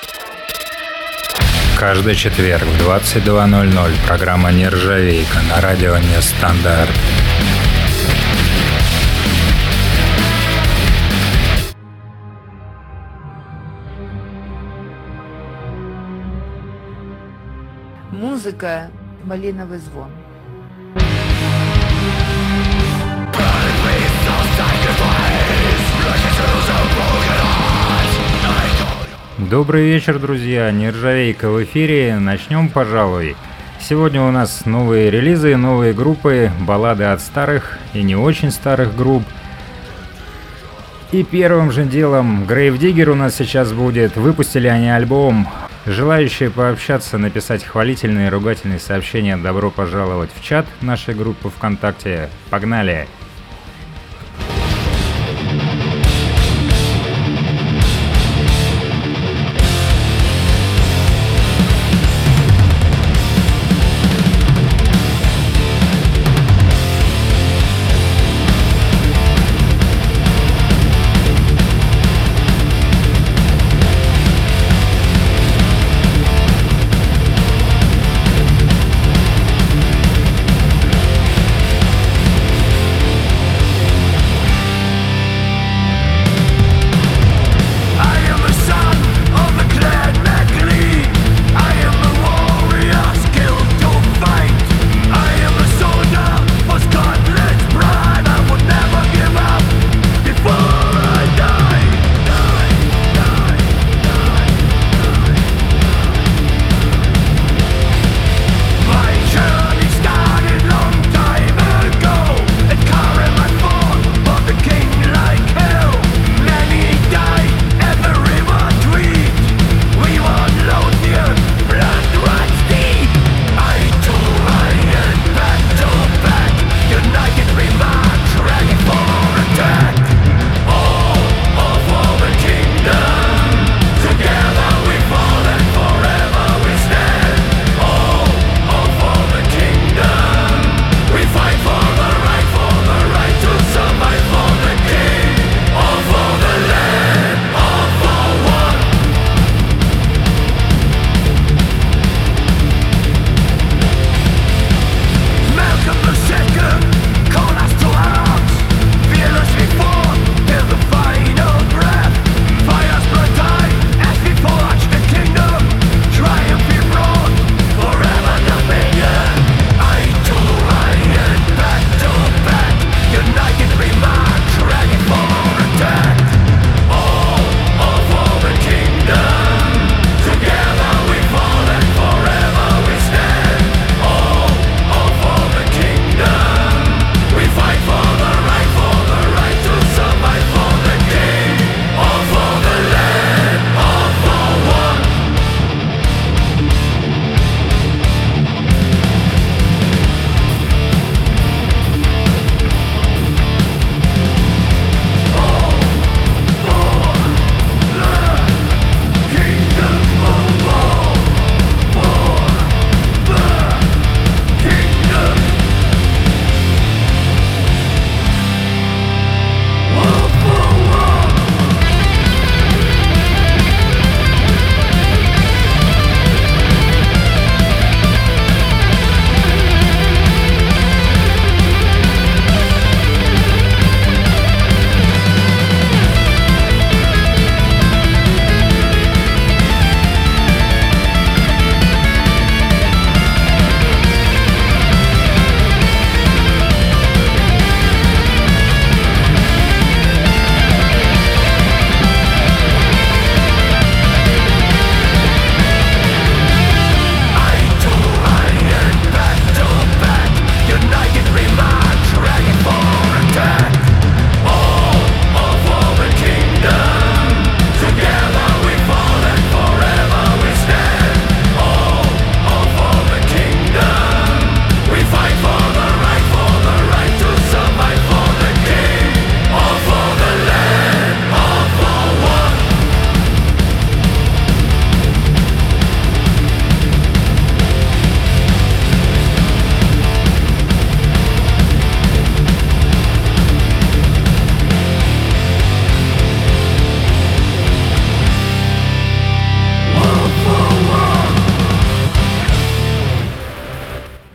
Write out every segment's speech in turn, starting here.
Каждый четверг в 22:00 программа «Нержавейка» на радио «Нестандарт». Музыка «Малиновый звон». Добрый вечер, друзья. Нержавейка в эфире. Начнем, пожалуй. Сегодня у нас новые релизы, новые группы, баллады от старых и не очень старых групп. И первым же делом Grave Digger у нас сейчас будет. Выпустили они альбом. Желающие пообщаться, написать хвалительные и ругательные сообщения, добро пожаловать в чат нашей группы ВКонтакте. Погнали!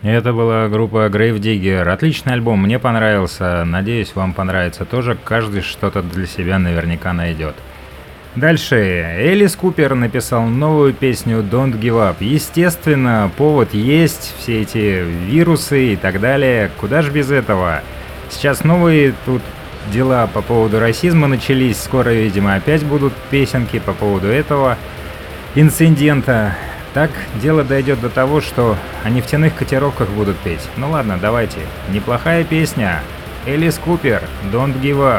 Это была группа Grave Digger. Отличный альбом, мне понравился. Надеюсь, вам понравится тоже. Каждый что-то для себя наверняка найдет. Дальше. Элис Купер написал новую песню Don't Give Up. Естественно, повод есть, все эти вирусы и так далее. Куда ж без этого? Сейчас новые тут дела по поводу расизма начались. Скоро, видимо, опять будут песенки по поводу этого инцидента. Так дело дойдет до того, что о нефтяных котировках будут петь. Ну ладно, давайте. Неплохая песня. Элис Купер, Don't Give Up.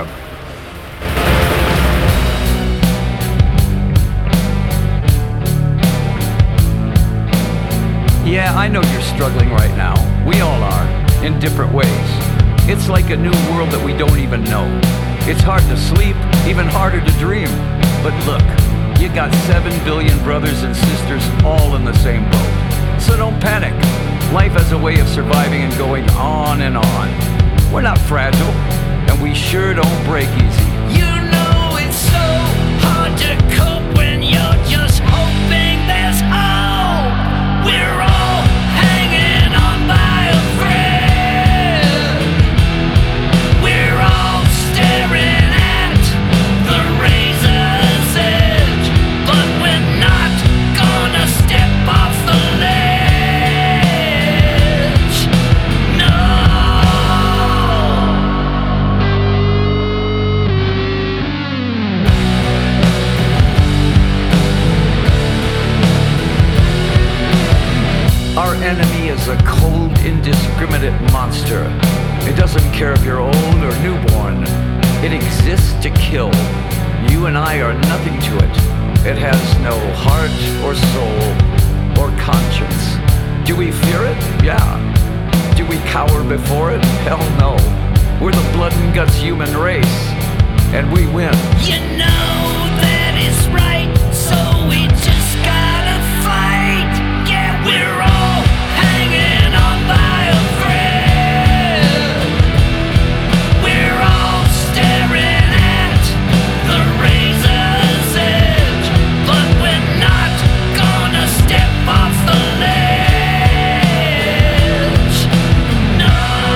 Yeah, I know you're struggling right now. We all are, in different ways. It's like a new world that we don't even know. It's hard to sleep, even harder to dream. But look, you got 7 billion brothers and sisters all in the same boat. So don't panic. Life has a way of surviving and going on and on. We're not fragile, and we sure don't break easy. You know it's so hard to cope when you're just hoping there's hope. We're all hanging on by a thread. We're all staring at the razor's edge, but we're not gonna step off the ledge. No. Our enemy is a cold, indiscriminate monster. It doesn't care if you're old or newborn. It exists to kill. You and I are nothing to it. It has no heart or soul or conscience. Do we fear it? Yeah. Do we cower before it? Hell no. We're the blood and guts human race. And we win. You know that is right, so we just gotta fight. Yeah, we're all hanging on by a thread. We're all staring at the razor's edge, but we're not gonna step off the ledge. No.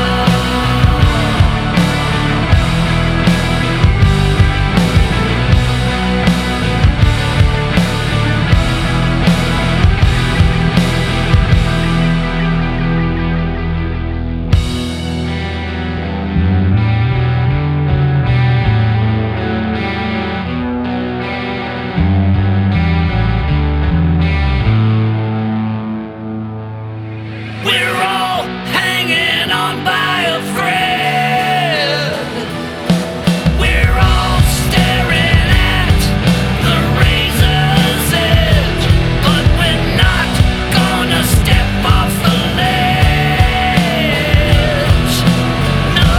We're all hanging on by a thread. We're all staring at the razor's edge, but we're not gonna step off the ledge. No.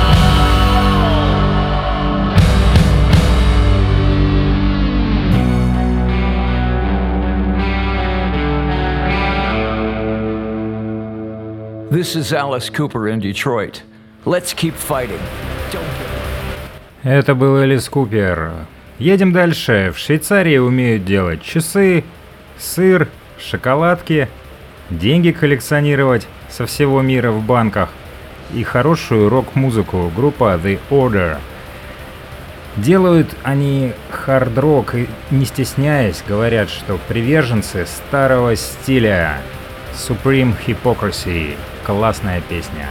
This is Alice Cooper in Detroit. Let's keep fighting. Don't give up. Это был Элис Купер. Едем дальше. В Швейцарии умеют делать часы, сыр, шоколадки, деньги коллекционировать со всего мира в банках и хорошую рок-музыку. Группа The Order. Делают они хард-рок и, не стесняясь, говорят, что приверженцы старого стиля. Supreme Hypocrisy. Классная песня.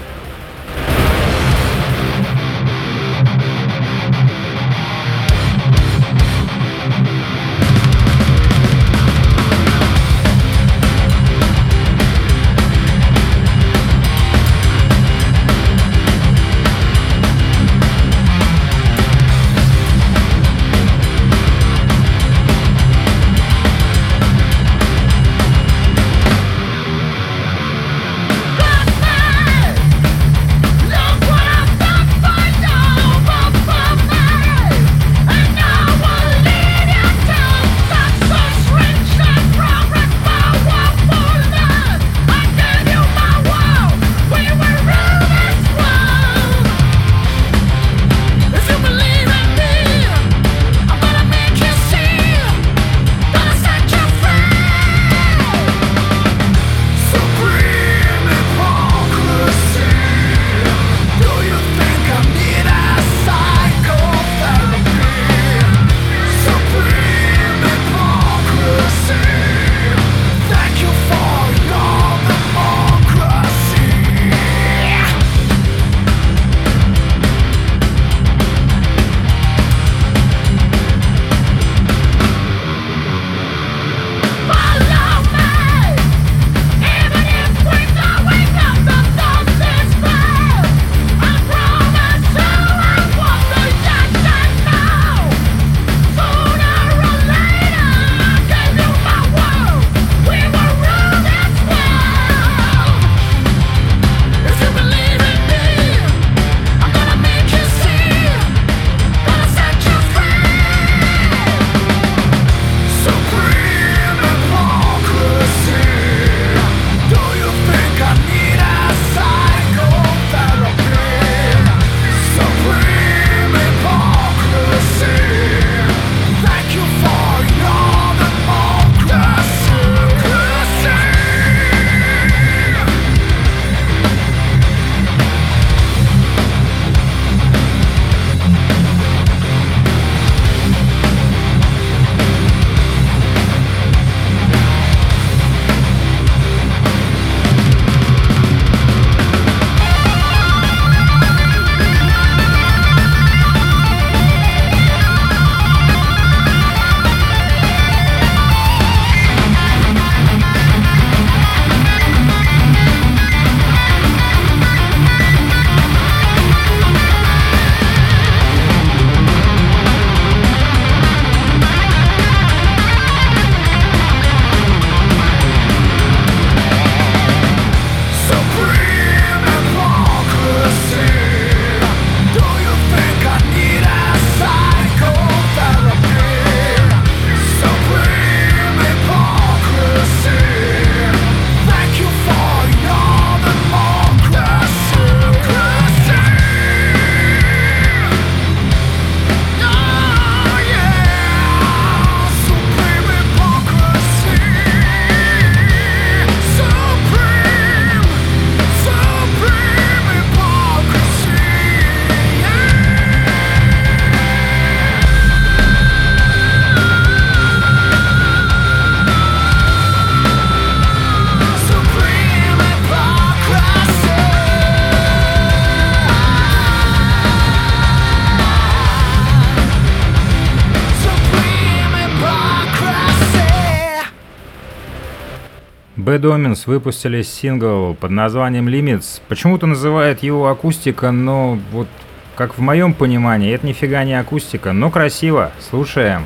Bad Omens выпустили сингл под названием Limits. Почему-то называют его акустика, но вот как в моем понимании, это нифига не акустика, но красиво. Слушаем.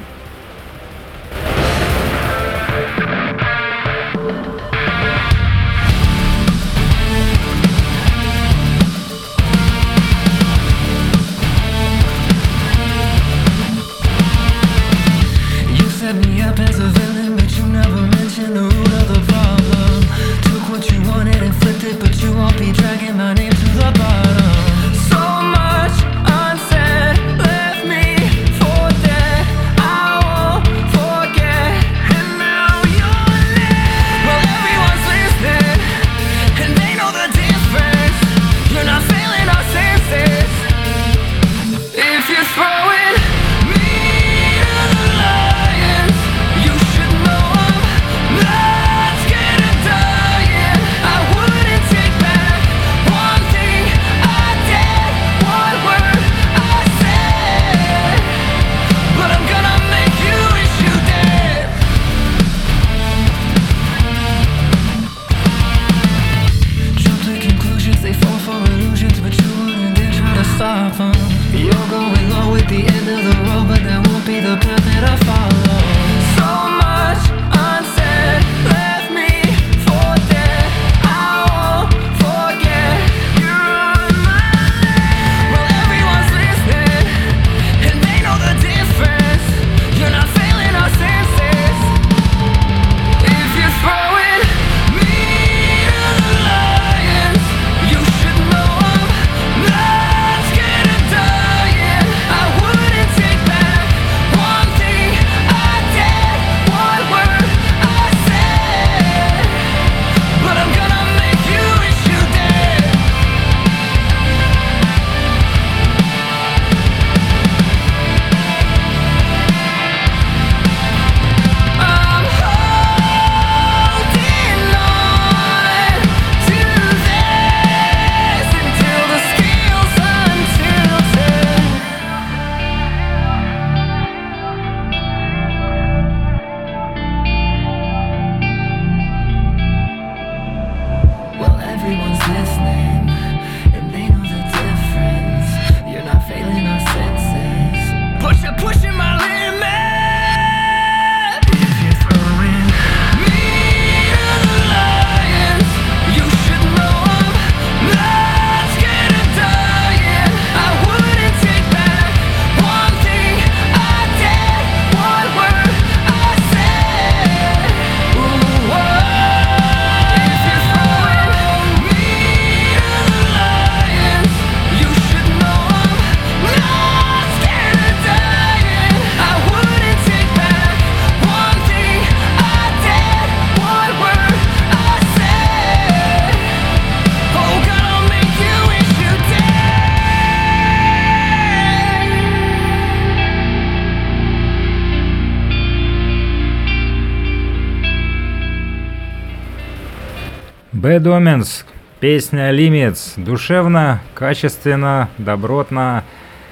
Bad Omens, песня Limits, душевно, качественно, добротно.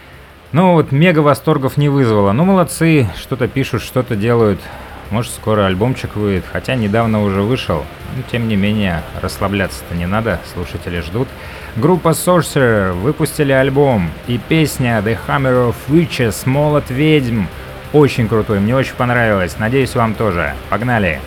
Ну вот мега восторгов не вызвало. Ну молодцы, что-то пишут, что-то делают. Может скоро альбомчик выйдет, хотя недавно уже вышел. Но тем не менее, расслабляться-то не надо, слушатели ждут. Группа Sorcerer выпустили альбом и песня The Hammer of Witches, молот ведьм. Очень крутой, мне очень понравилось, надеюсь вам тоже. Погнали!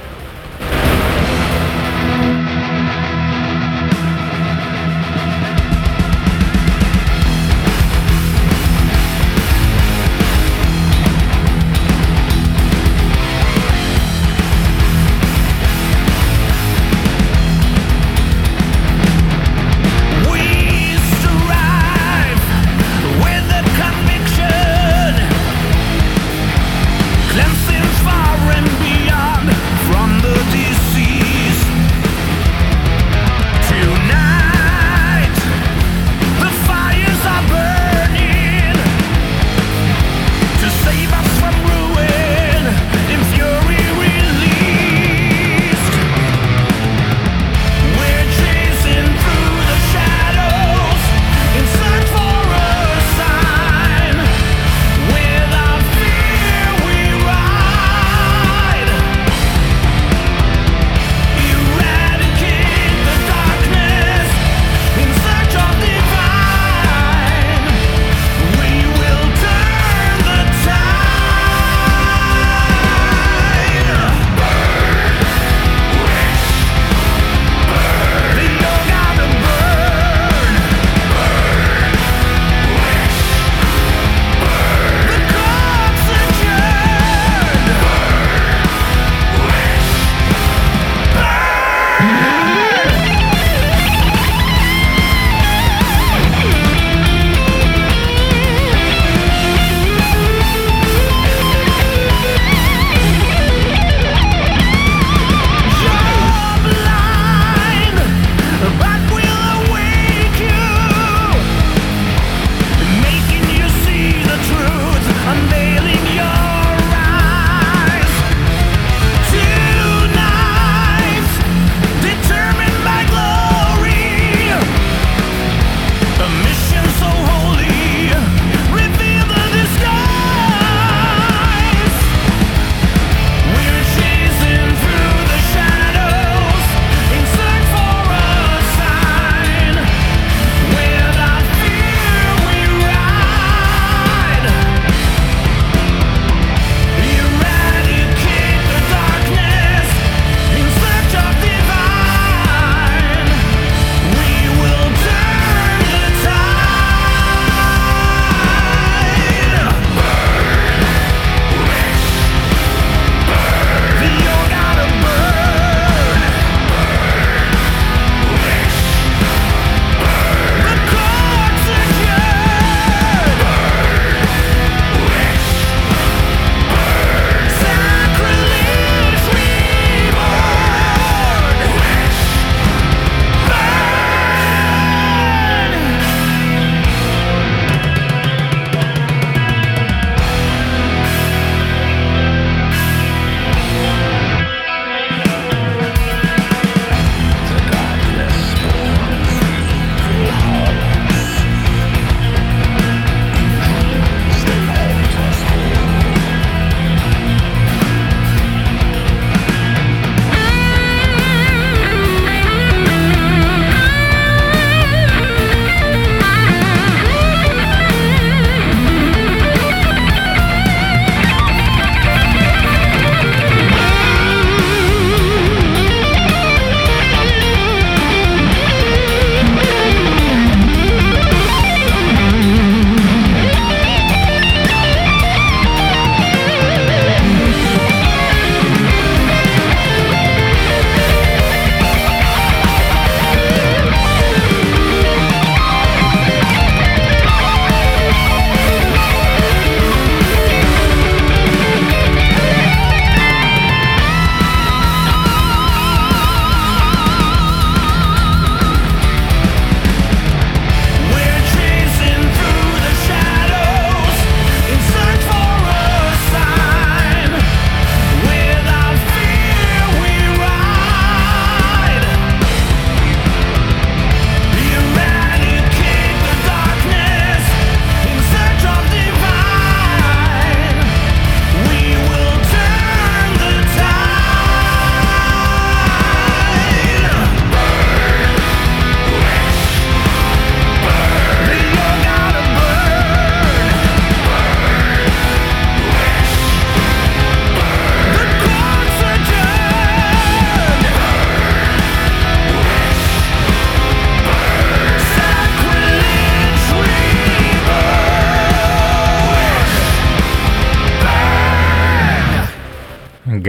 Cleansing far and beyond from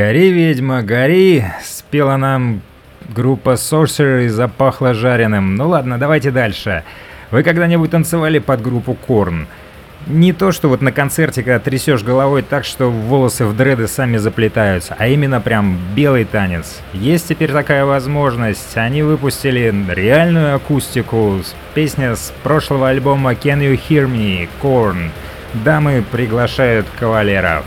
«Гори, ведьма, гори», спела нам группа Sorcerer и запахло жареным. Ну ладно, давайте дальше. Вы когда-нибудь танцевали под группу Korn? Не то, что вот на концерте, когда трясешь головой так, что волосы в дреды сами заплетаются, а именно прям белый танец. Есть теперь такая возможность. Они выпустили реальную акустику. Песня с прошлого альбома Can You Hear Me? Korn. Дамы приглашают кавалеров.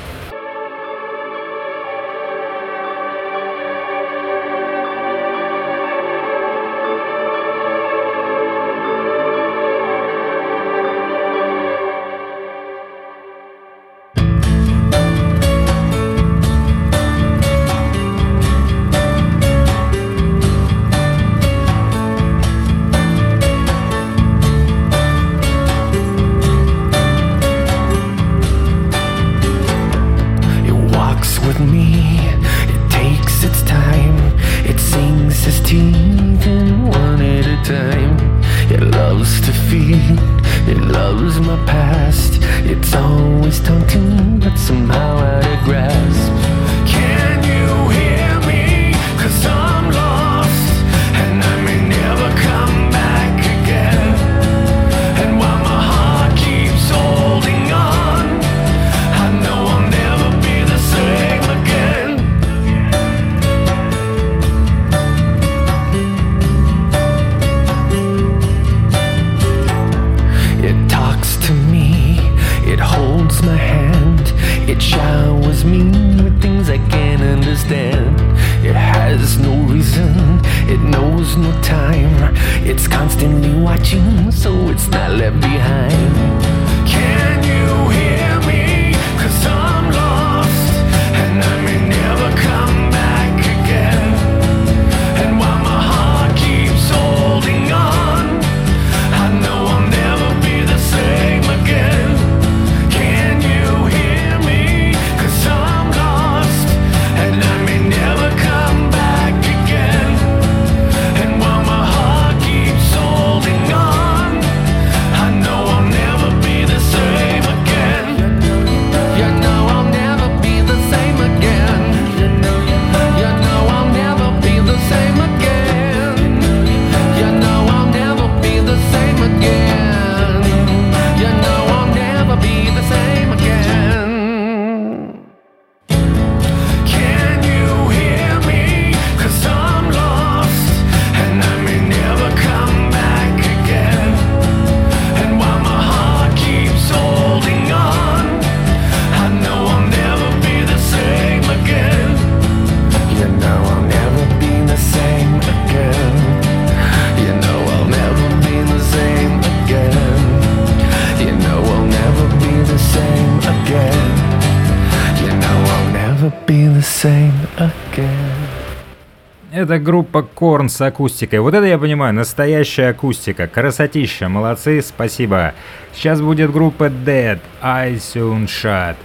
Это группа Korn с акустикой. Вот это я понимаю, настоящая акустика. Красотища, молодцы, спасибо. Сейчас будет группа Dead, I Soon Shot.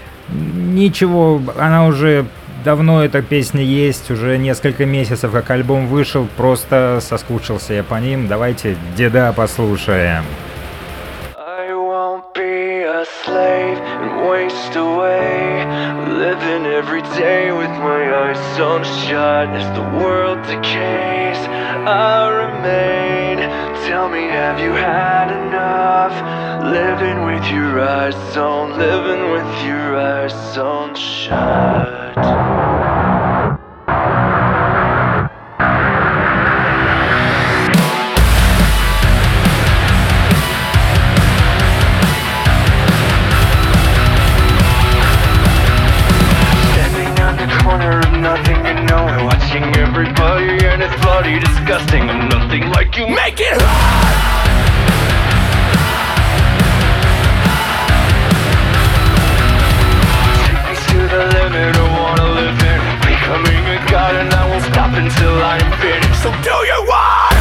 Ничего, она уже давно, эта песня есть, уже несколько месяцев как альбом вышел, просто соскучился я по ним. Давайте Деда послушаем. Slave and waste away, living every day with my eyes on shut. As the world decays, I remain. Tell me, have you had enough? Living with your eyes on, living with your eyes on shut. Everybody and it's bloody disgusting. I'm nothing like you, make it hard. Take me to the limit, I wanna live in. Becoming a god and I won't stop until I am finished. So do you want?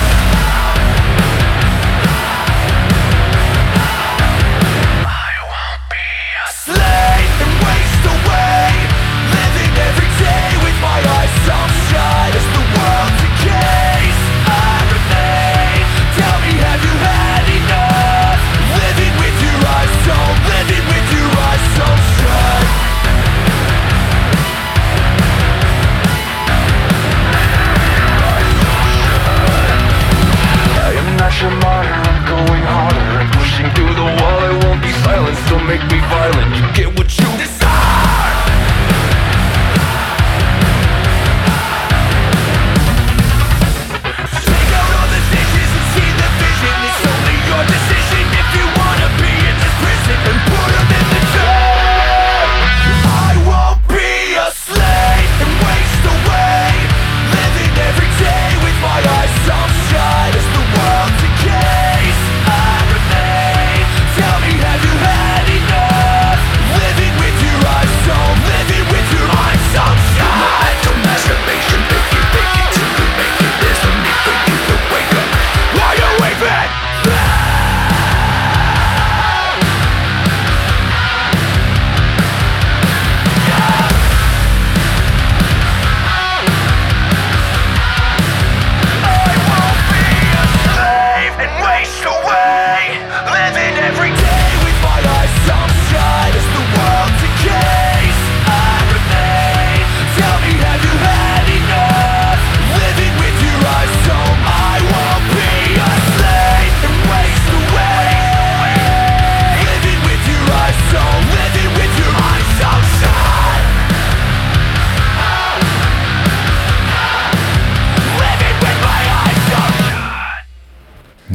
I won't be a slave and waste away, living every day with my eyes on shut. As the world decays, I remain. Tell me, have you had enough? Living with your eyes on, living with your eyes on shut.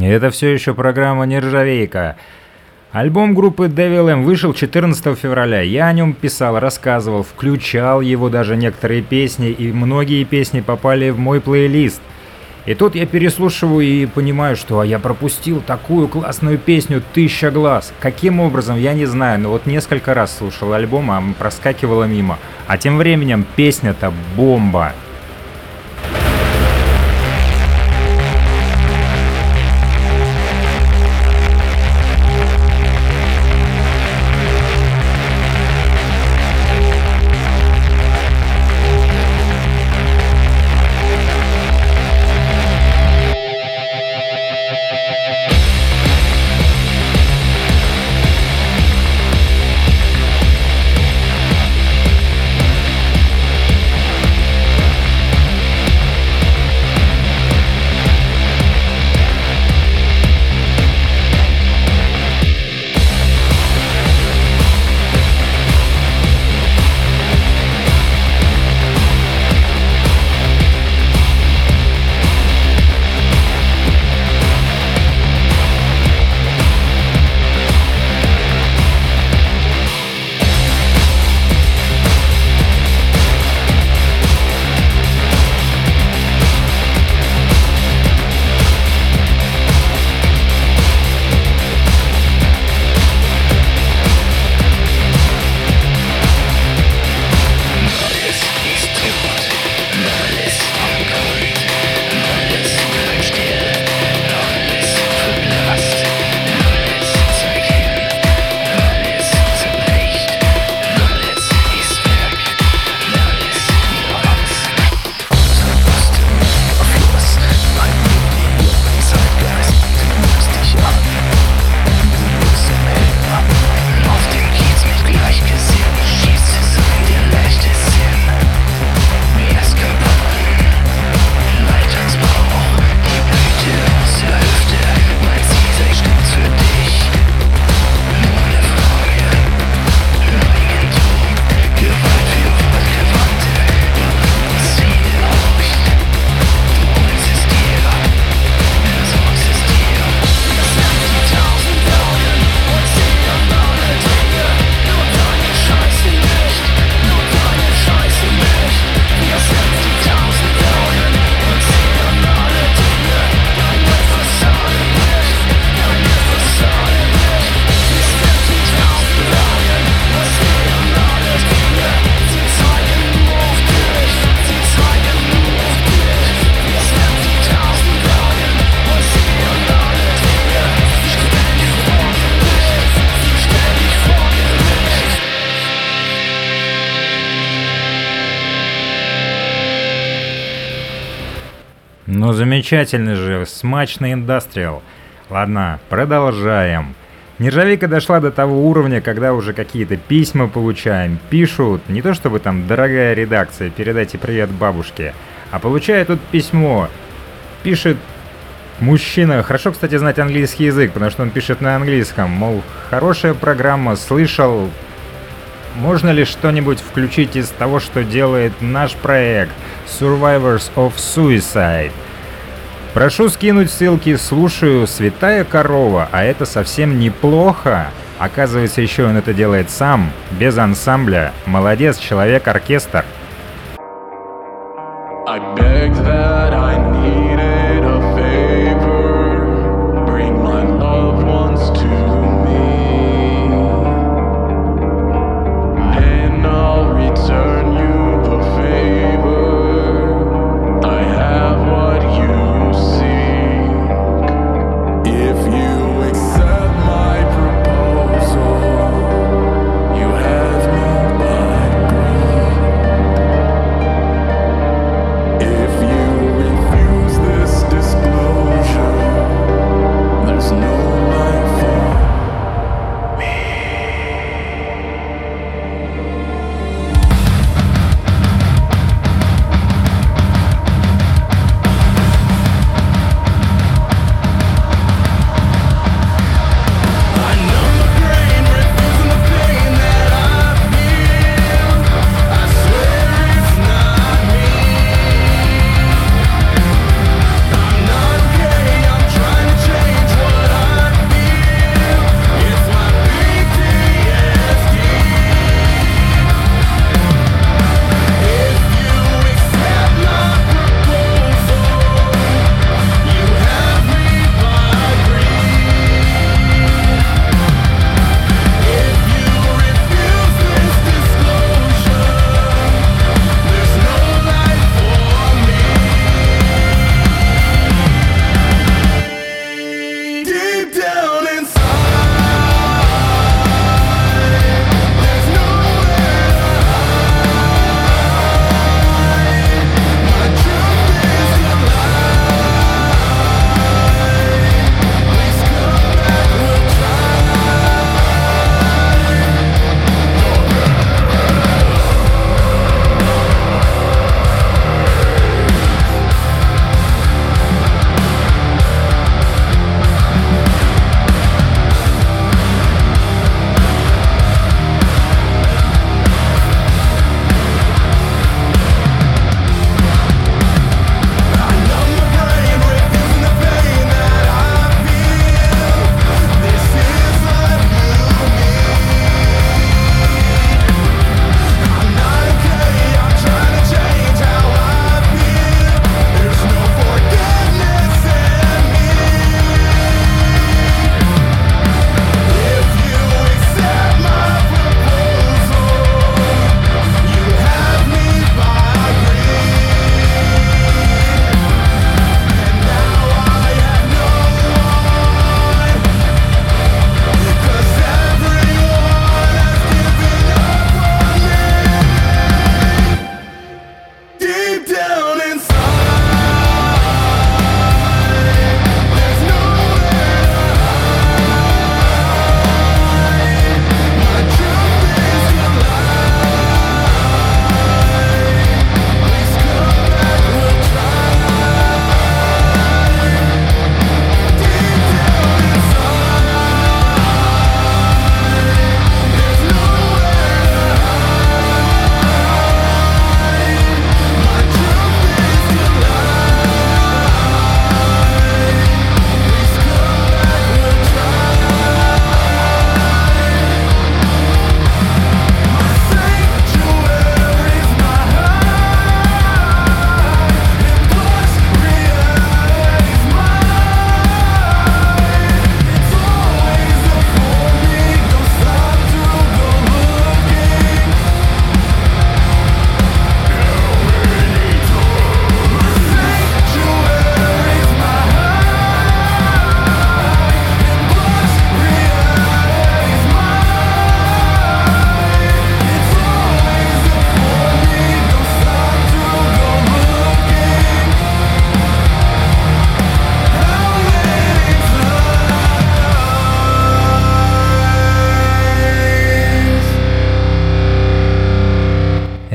Это все еще программа «Нержавейка». Альбом группы Devil M вышел 14 февраля. Я о нем писал, рассказывал, включал его даже некоторые песни, и многие песни попали в мой плейлист. И тут я переслушиваю и понимаю, что я пропустил такую классную песню «Тысяча глаз». Каким образом, я не знаю, но вот несколько раз слушал альбом, а проскакивала мимо. А тем временем песня-то бомба. Ну замечательный же, смачный индастриал. Ладно, продолжаем. Нержавейка дошла до того уровня, когда уже какие-то письма получаем. Пишут, не то чтобы там «Дорогая редакция, передайте привет бабушке», а получаю тут письмо. Пишет мужчина, хорошо, кстати, знать английский язык, потому что он пишет на английском, мол, хорошая программа, слышал, можно ли что-нибудь включить из того, что делает наш проект Survivors of Suicide? Прошу скинуть ссылки, слушаю, святая корова, а это совсем неплохо. Оказывается, еще он это делает сам, без ансамбля. Молодец, человек-оркестр. I begged that I needed a favor. Bring my loved ones to me. Then I'll return you the favor. I have what you seek. If you accept my proposal, you have me by grip. If you refuse this disclosure, there's no life for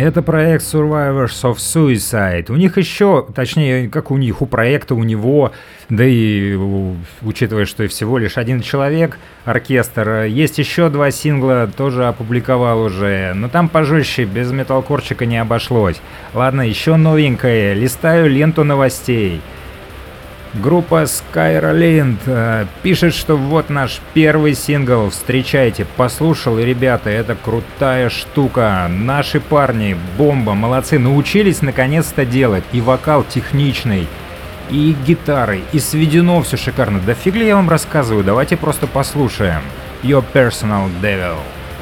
Это проект Survivors of Suicide. У них еще, точнее, как у них, у проекта, у него, да и учитывая, что и всего лишь один человек, оркестр, есть еще 2 сингла, тоже опубликовал уже, но там пожестче, без металкорчика не обошлось. Ладно, еще новенькое, листаю ленту новостей. Группа Skyralind пишет, что вот наш первый сингл, встречайте, послушал, и, ребята, это крутая штука, наши парни, бомба, молодцы, научились наконец-то делать, и вокал техничный, и гитары, и сведено все шикарно, да фиг ли я вам рассказываю, давайте просто послушаем. Your Personal Devil.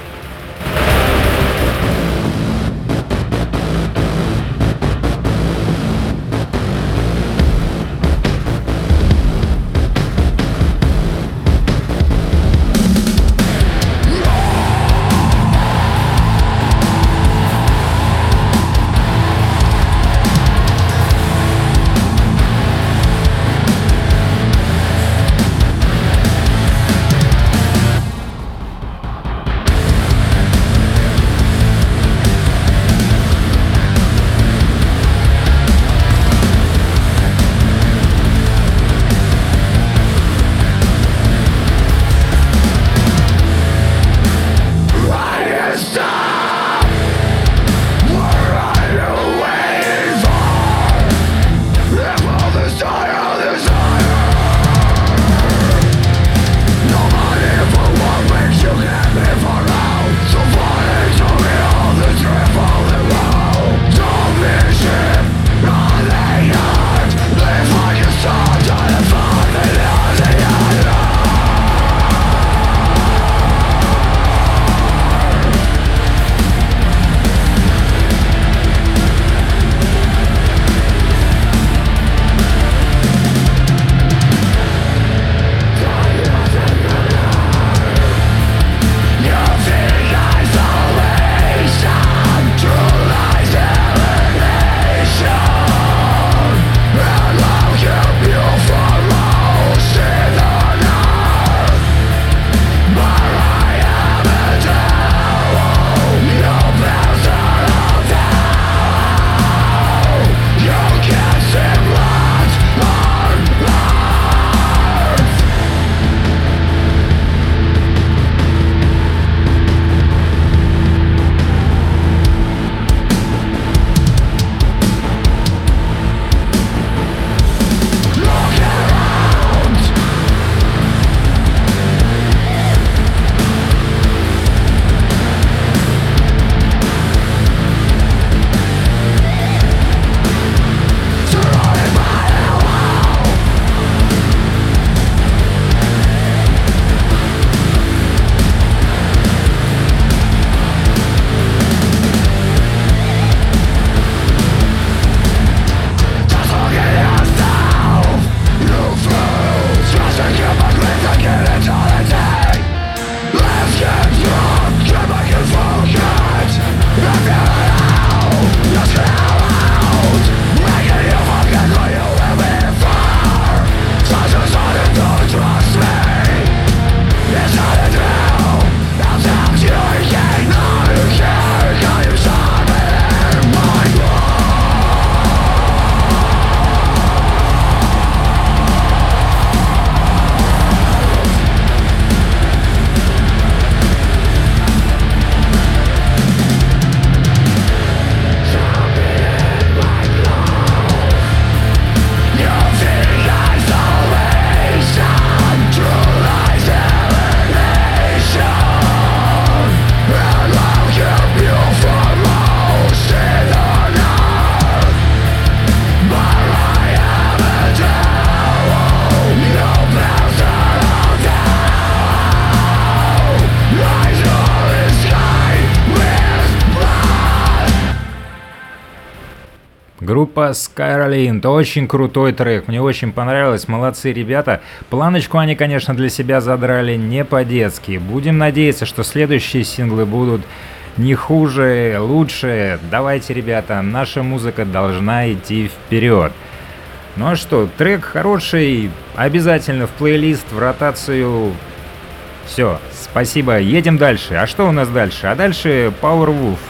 Группа Skyralind, очень крутой трек, мне очень понравилось, молодцы ребята. Планочку они, конечно, для себя задрали не по-детски. Будем надеяться, что следующие синглы будут не хуже, лучше. Давайте, ребята, наша музыка должна идти вперед. Ну а что, трек хороший, обязательно в плейлист, в ротацию. Все, спасибо, едем дальше. А что у нас дальше? А дальше Powerwolf.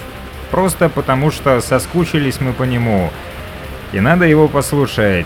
просто потому что соскучились мы по нему. И надо его послушать.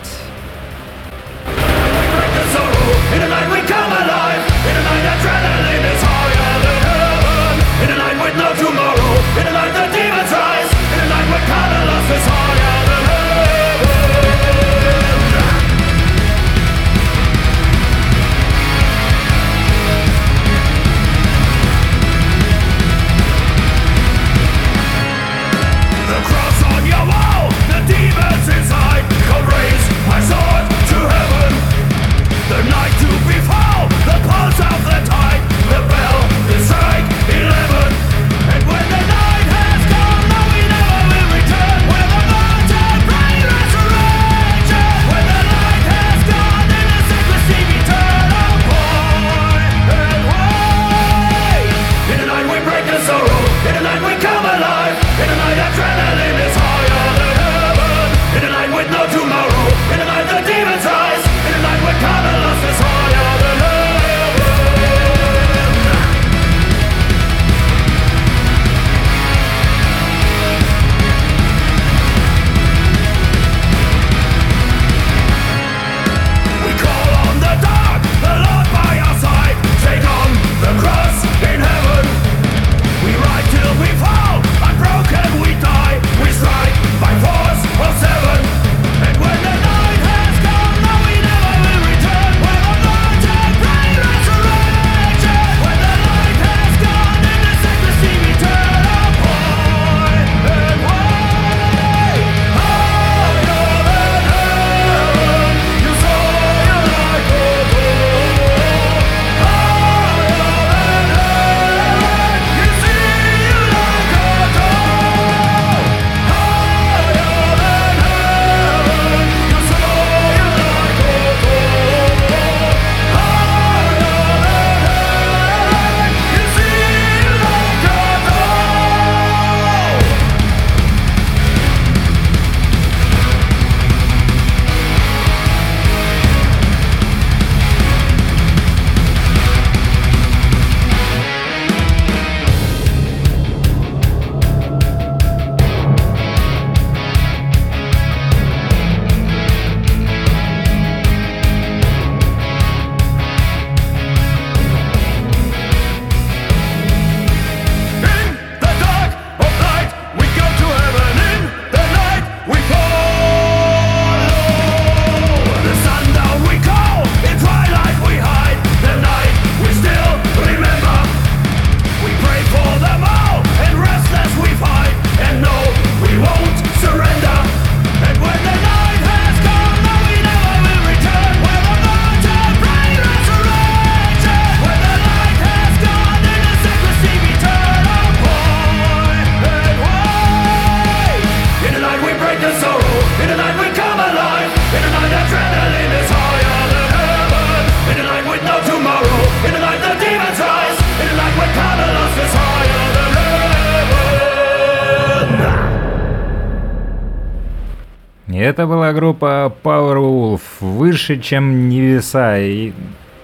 Это была группа Powerwolf, выше, чем небеса, и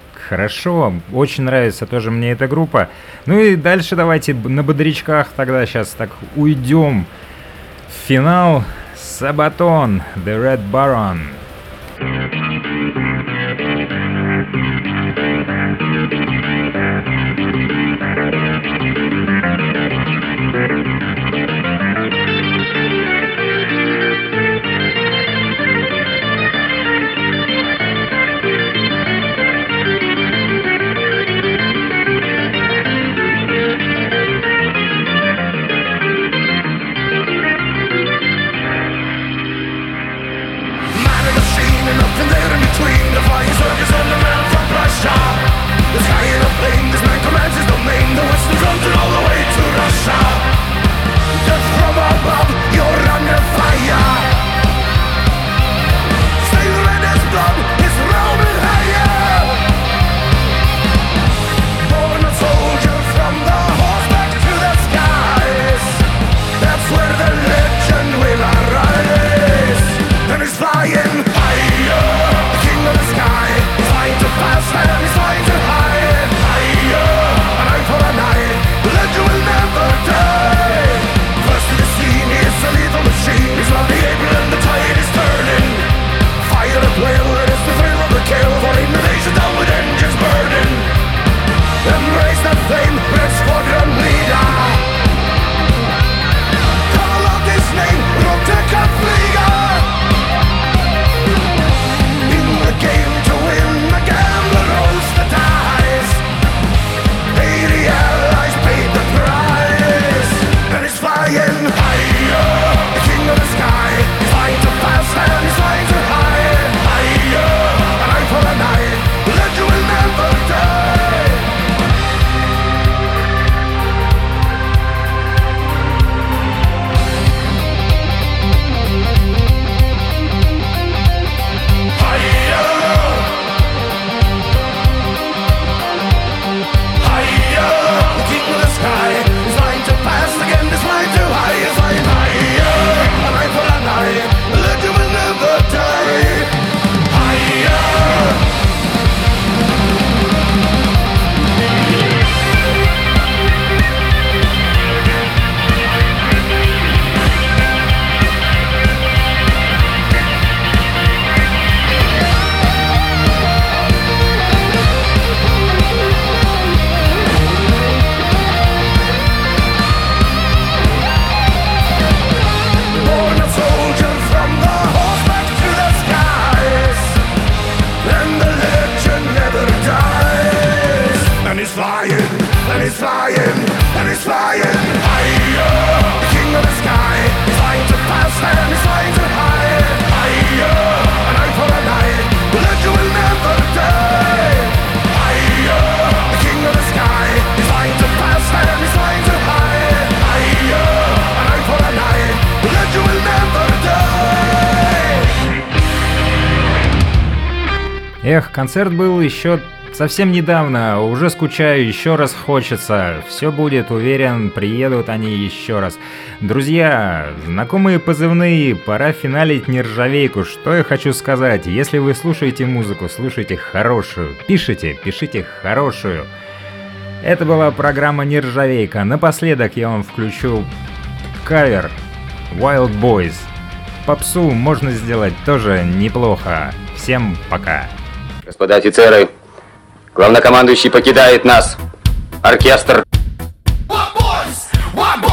хорошо, очень нравится тоже мне эта группа. Ну и дальше давайте на бодрячках тогда сейчас так уйдем в финал. Sabaton, The Red Baron. Legend will never die. First to the Эх, концерт был еще совсем недавно, уже скучаю, еще раз хочется. Все будет, уверен, приедут они еще раз. Друзья, знакомые позывные, пора финалить нержавейку. Что я хочу сказать? Если вы слушаете музыку, слушайте хорошую. Пишите хорошую. Это была программа «Нержавейка». Напоследок я вам включу кавер Wild Boys. Попсу можно сделать тоже неплохо. Всем пока. Господа офицеры, главнокомандующий покидает нас. Оркестр. What boys?